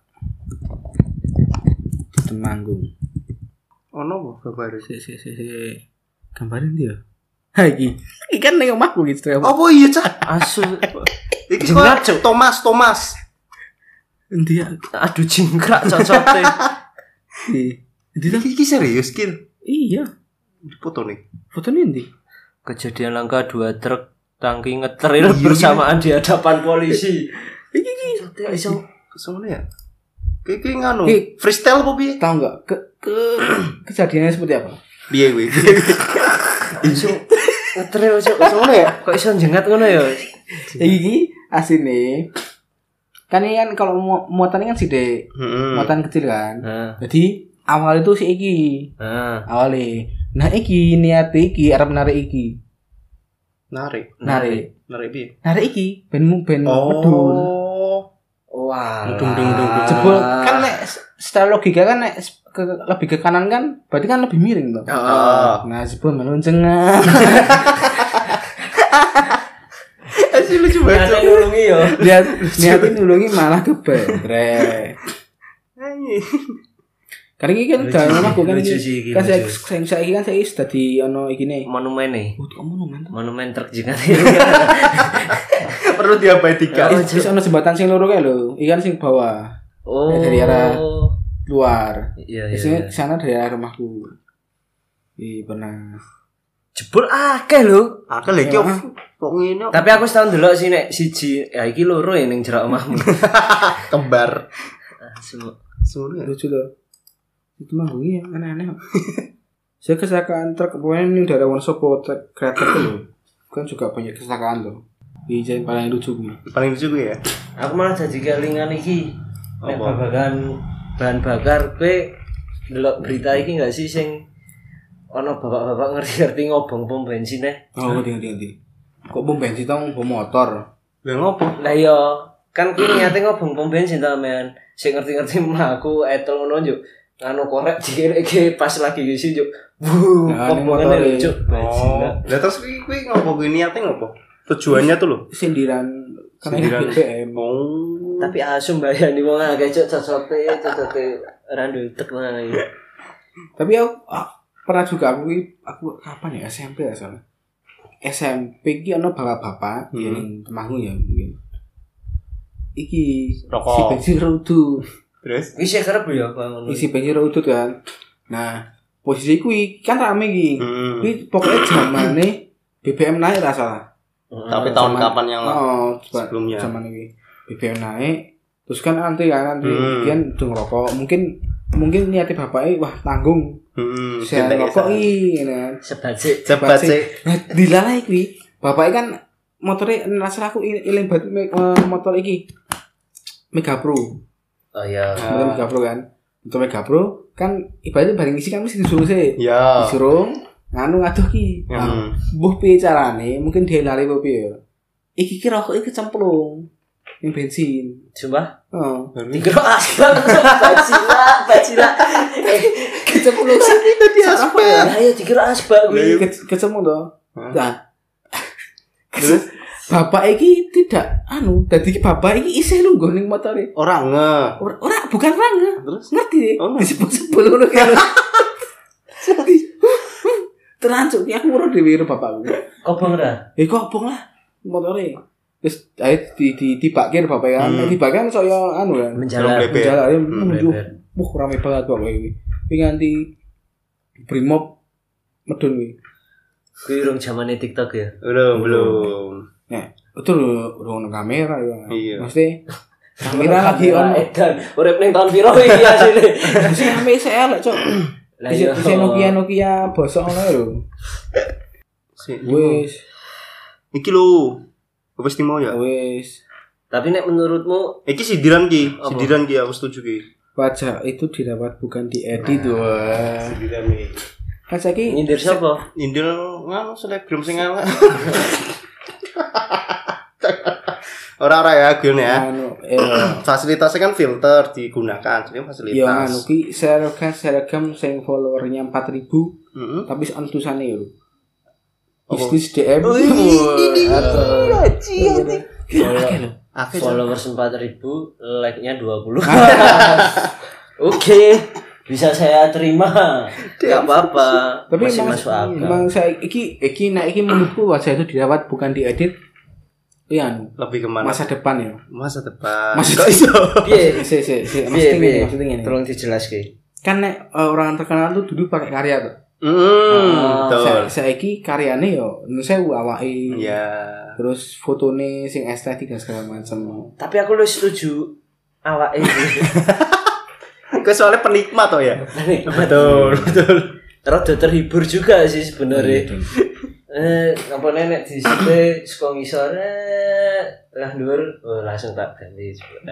Temanggung. Ono apa kabar? Si si si si. Gambarin dia. Ha iki. Iki kan ning omahku iki truk. Apa iya, Cak? Asu Iki Jengrat, kok Thomas, Thomas. Endi ya? aduh jingkrak cocote. Endi ta? Iki iki serius, Kil. Iya. Foto nih. Fotonya endi? Kejadian langka dua truk tangki ngetril bersamaan di hadapan polisi. Iki iki. Cocote iso Kesana ya? Ki ki nganu. Ki- Freestyle apa piye? Tahu nggak ke, ke kejadiannya seperti apa? Piye kuwi? Iso ngetre ojo kok ngono ya? Kok iso jengat ngono ya? Iki asine kan ini kan kalau mu- muatan ini kan sithik, Heeh. muatan kecil kan. Heeh. Jadi awal itu si iki, Heeh. awalnya. Nah iki niat iki arep narik iki, Narik. narik, Narik piye? narik iki ben mu ben medun. Oh. Wah. Dung, dung, dung, dung. Jebul kan nek secara logika kan nek ke, lebih ke kanan kan berarti kan lebih miring toh. Heeh. Nah jebul melunceng. Asli lucu banget. Nyata nulungi yo. Lihat niatin nulungi malah kebetrek. Karena ini kan Lucu, udah lama kan lucu ini sih, iki, kan saya lucu. saya saya kan saya sudah di ono iki nih. Monumen nih. Oh, kamu monumen. Monumen truk jengat. Perlu diabadikan. Kan terus ono jembatan sing loro kae lho, ikan sing bawah Oh. dari arah luar. Iya Di iya. sini iya. sana dari arah rumahku. Iya pernah. Jebul akeh lho. Akal iki Ya. kok ngene Tapi aku setahun delok sih nek siji ya iki loro ya ning jerak omahmu. kembar. Asu. Semono. Lucu loh. Itu manggungnya aneh-aneh. Saya kecelakaan truk pokoknya ini dari Wonosobo truk kereta itu loh. Kan juga banyak kecelakaan tuh. Di jalan paling lucu nih. Paling lucu kuwi ya. Aku malah jadi kelingan iki. Nek Apa? babagan bahan bakar kowe delok berita iki enggak sih sing ono bapak-bapak ngerti-ngerti ngobong pom bensin eh. Oh, ngerti ngerti ngerti. Kok bom bensin tau bom motor? Lah ngopo? Lah iya, kan kuwi niate ngobong pom bensin ta men. Sing ngerti-ngerti mah aku etel ngono njuk. Anu korek dikireke pas lagi ngisi njuk. Wuh, Nah, ini obongan motore. lucu. Oh. Lah terus kuwi kuwi ngopo kuwi niate ngopo? Tujuannya tuh lho. Sindiran karena ini Sindiran. B B M. Oh. Tapi asum bayani wong akeh cuk cocote cocote randu tek nang iki. Tapi aku ah, pernah juga aku aku kapan ya S M P ya salah. S M P ki ono bapak-bapak Hmm. yang temanggung ya mungkin. Iki Rokok. si bensin rudu. Terus Wis ya kerep ya bangun. Isi bensin rudu kan. Nah, posisi kuwi kan rame iki. Hmm. Kuwi pokoknya zamane B B M naik ra salah. Tapi tahun Zaman- kapan yang Oh, coba sebelumnya? zaman ini B B M naik. Terus kan antri kan antri Hmm. kian udah ngerokok. Mungkin mungkin niatnya bapaknya wah tanggung. Hmm. Saya ngerokok iki kan. Sebajik. Cepat sih. Nah, dilalai kuwi. Bapaknya kan motornya rasa aku ilang banget me- eh, motor iki. Mega Pro. Oh iya. Motor Mega Pro kan. Motor Mega Pro kan ibaratnya bareng isi kan mesti disuruh sih. Ya. Disuruh nganu ngaduh ki. Nah, Hmm. mbuh piye carane? Mungkin dia lari apa piye ya. Iki ki rokok iki kecemplung. Yang bensin. Sumpah. Oh. Dikira asbak. Bacila, bacila. Kecemplung sih Itu dia Apa aspek. ya? Lah ya dikira asbak kuwi. Ke- kecemplung toh. Hah? Nah, Terus bapak iki tidak anu, dadi bapak iki isih lungguh ning motore. orang nge. Ora, ora bukan ranga. Terus Ngerti deh. Oh, Disebut-sebut ngono kan. Terancuk ki aku ora dhewe karo bapakku. Kobong ra? Eh kok obong lah motore. Terus ae di di dibakir bapak kan. Hmm. Dibakir kan saya anu kan. Menjalar. Belum Menjalan ayo Hmm, menuju. beber. Wah, rame banget bapak iki. Iki nganti Brimob medun iki. Kuwi urung zamane TikTok ya. belum belum. Nah, itu udah ono kamera ya. Iya. Mesti kamera lagi ono. edan. Urip ning tahun piro iki asline? Sing ame sik elek, Cok. Lah Bisa iya. bisa Nokia Nokia bosok ngono lho. Si, Wis, iki lho. Wis timo ya. wis. Tapi nek menurutmu Iki sindiran ki, Apa? sindiran ki aku setuju ki. Wajah itu didapat bukan diedit wah. Sindiran ki. Kan saiki nyindir sapa? Indil nganu selebgram sing elek. Ora-ora ya, Gun ya. anu eh Fasilitasnya kan filter digunakan, jadi ya anu fasilitas. ki seragam seragam sing followernya empat ribu Heeh. tapi antusane lho. Apa? Istis D M. Oh, ini, Atau- Akeh Followers empat ribu, like-nya dua puluh. Oke, bisa saya terima. Enggak apa-apa. Tapi Masih emang, masuk akal. emang saya iki iki nah iki menurutku wajah itu didapat bukan diedit. Iya, anu, lebih kemana? masa depan ya. Masa depan. Masa Kok iso? Piye? Si si si Piye, maksudnya piye? gini, maksudnya gini. Tolong dijelaske. Kan nek eh, orang terkenal tuh duduk pakai karya tuh. Hmm, betul. Saya saiki karyane yo sewu awake. Iya. Terus fotone sing estetik dan segala macam. Tapi aku lu setuju awake iki. Kau soalnya penikmat toh ya. Betul, betul. Rada terhibur juga sih sebenarnya. Eh, apa nenek di situ suka ngisor lah dhuwur oh, langsung tak ganti.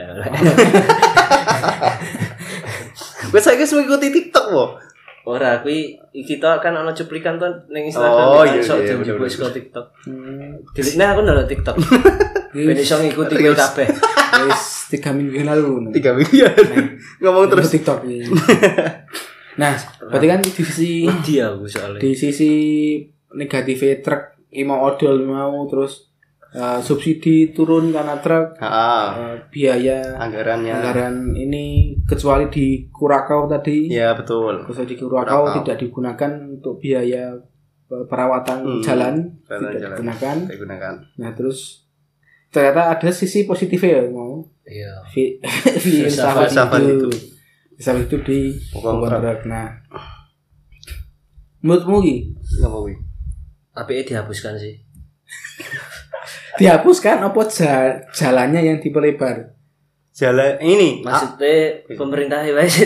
Gue saiki wis mengikuti TikTok kok. Ora kuwi kita kan ana cuplikan to ning Instagram Oh, kan iya, sok iya, dijupuk bener, saka TikTok. Hmm. Dilikne aku ndelok TikTok. Ben iso ngikuti kowe kabeh. Wis tiga minggu yang lalu. Tiga minggu ya. Ngomong terus TikTok ini. Nah, berarti kan di sisi dia aku soalnya. Di sisi negatif truk mau odol mau terus uh, subsidi turun karena truk. Uh, biaya anggarannya. Anggaran ini kecuali di Kurakau tadi. Ya, betul. Kecuali di Kurakau, Kurakau tidak digunakan untuk biaya perawatan hmm, jalan, tidak jalan. digunakan. digunakan. Nah, terus ternyata ada sisi positifnya ya mau. Iya. Filsafat itu. Filsafat itu di kontrak. Nah. Menurutmu ki? Ngapa kuwi? Apike dihapuskan sih. Dihapuskan apa jalannya yang diperlebar? Jalan ini maksudnya ah. pemerintah wae sih.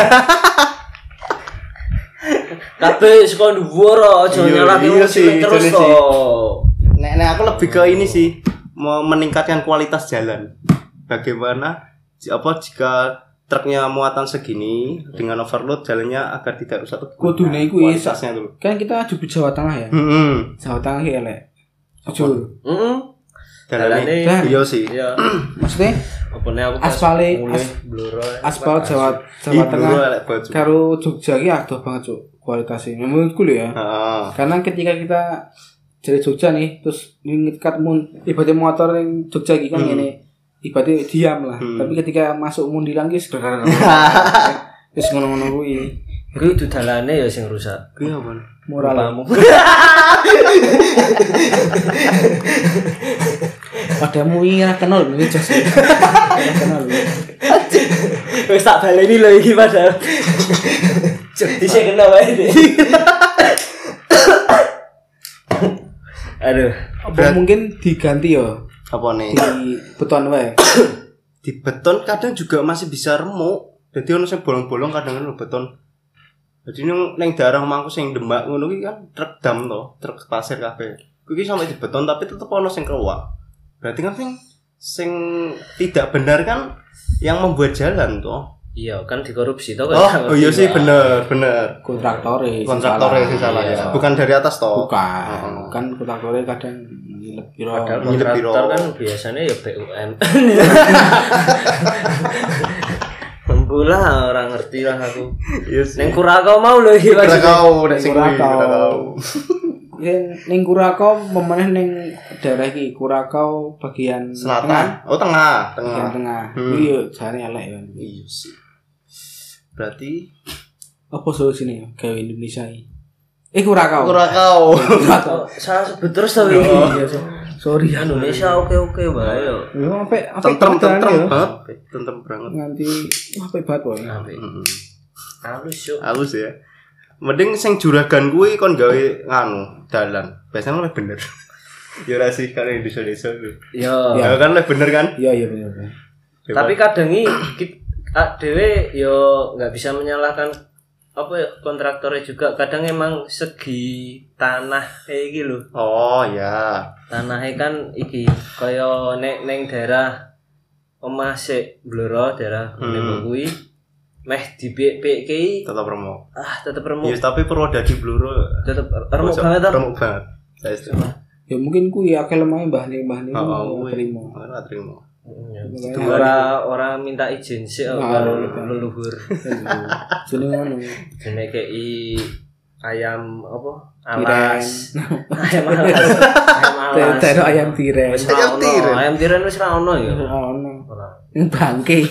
Kabeh saka dhuwur aja nyalahke terus to. Nek nek aku lebih ke ini sih, mau meningkatkan kualitas jalan. Bagaimana apa jika truknya muatan segini dengan overload jalannya agar tidak rusak. Kudune iku kualitasnya dulu. Kan kita aju Jawa Tengah ya. Heeh. Hmm. Jawa Tengah ya elek. Jujur. Heeh. Jalanane iya sih. Iya. Maksudnya opone aku aspale aspal Jawa Jawa Tengah karo Jogja iki adoh banget cuk kualitasnya menurutku lho ya. Heeh. Karena ketika kita dari Jogja nih terus ngikat mun ibaratnya motor yang Jogja iki kan ngene ibaratnya diam lah. Hmm. Tapi ketika masuk mundilan ki wis ngono-ngono kuwi. Kuwi dudalane ya sing rusak. Kuwi apa? Moralmu. Padamu iki ora kenal lho jos. Kenal. Wis tak baleni lho iki padahal. Dise kena wae. Aduh, apa mungkin diganti ya? Apa nih? Di beton wae. Di beton kadang juga masih bisa remuk. Jadi ono sing bolong-bolong kadang ono beton. Jadi nang nang daerah omahku sing Demak ngono ki kan truk dam to, truk pasir kabeh. Kuwi sampai di beton tapi tetep ono sing keluar. Berarti kan sing sing tidak benar kan yang membuat jalan to. Iya, kan dikorupsi to kan. Oh, oh iya sih bener, bener. Kontraktore. Kontraktore sing salah ya. Bukan dari atas to. Bukan. Kan kontraktore kadang piro. Kontraktor kan biasanya ya B U M. Mula orang ngerti lah aku. Yes. Neng Kurakau mau lho iki Mas. Kurakau, nek sing Kurakau. Ning Kurakau memeneh ning daerah iki Kurakau bagian selatan. Tengah. Oh, tengah, tengah. Bagian tengah. Iki yo jane elek ya. Iya sih. Berarti apa solusinya gawe Indonesia iki? Eh Kurakau. Kurakau. Kurakau. Salah sebut terus to iki. Sorry Indonesia oke-oke bae yo. Yo sampai tentrem tentrem banget. Tentrem banget. Nganti sampai banget wae. Heeh. Halus yo. Halus ya. Mending sing juragan kuwi kon gawe nganu dalan. Biasanya lebih bener. Ya ora sih kan di desa-desa kuwi. Yo. Ya kan lebih bener kan? Iya iya bener. Tapi kadang iki dhewe yo enggak bisa menyalahkan apa ya kontraktornya juga kadang emang segi tanah kayak iki lho. Oh ya. Tanahnya kan iki kaya nek neng daerah omah sik Blora daerah Nembok kuwi meh dipik-pik ki tetep remuk. Ah, tetep remuk. Ya tapi Purwodadi Blora tetep remuk banget to. Remuk banget. Saya setuju. Ya mungkin kuwi akeh lemah mbah-mbah niku ora trimo. Ora trimo. Ora ora minta izin sih karo leluhur. Jenenge ngono. Jenenge kei ayam apa? Alas. Ayam alas. Ayam alas. Tero ayam tiren. Ayam tiren. Ayam tiren wis ra ono ya. Ora ono. Ning bangke.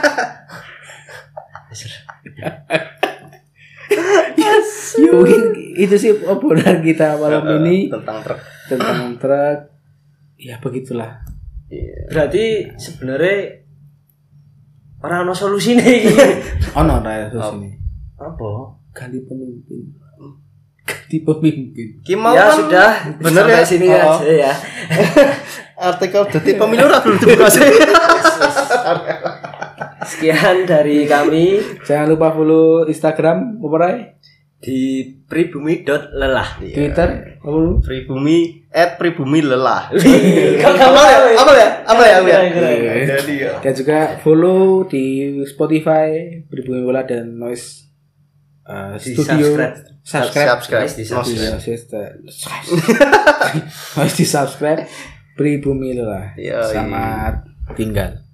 Yes. Mungkin itu sih obrolan kita malam ini tentang truk. Tentang truk. Ya begitulah. Berarti sebenarnya ora ono solusine iki. Ono ora solusine. Apa? Ganti pemimpin. Ganti pemimpin. Ki mau ya kan sudah bener ya sini oh. aja ya. Artikel dadi pemilu ora belum dibuka sih. Sekian dari kami Jangan lupa follow Instagram apa Rai? di pribumi dot lelah. Twitter apa lu? Pribumi at pribumi lelah. Kok kamu Apa ya? tahu? Apa ya? Apa ya? Apa ya? Keren, keren. Jadi ya. Dan juga follow di Spotify Pribumi Bola dan Noise uh, Di Studio. subscribe. Subscribe. Subscribe. Di Subscribe. Subscribe. Harus di subscribe Pribumi Bola. Yoi. Selamat tinggal.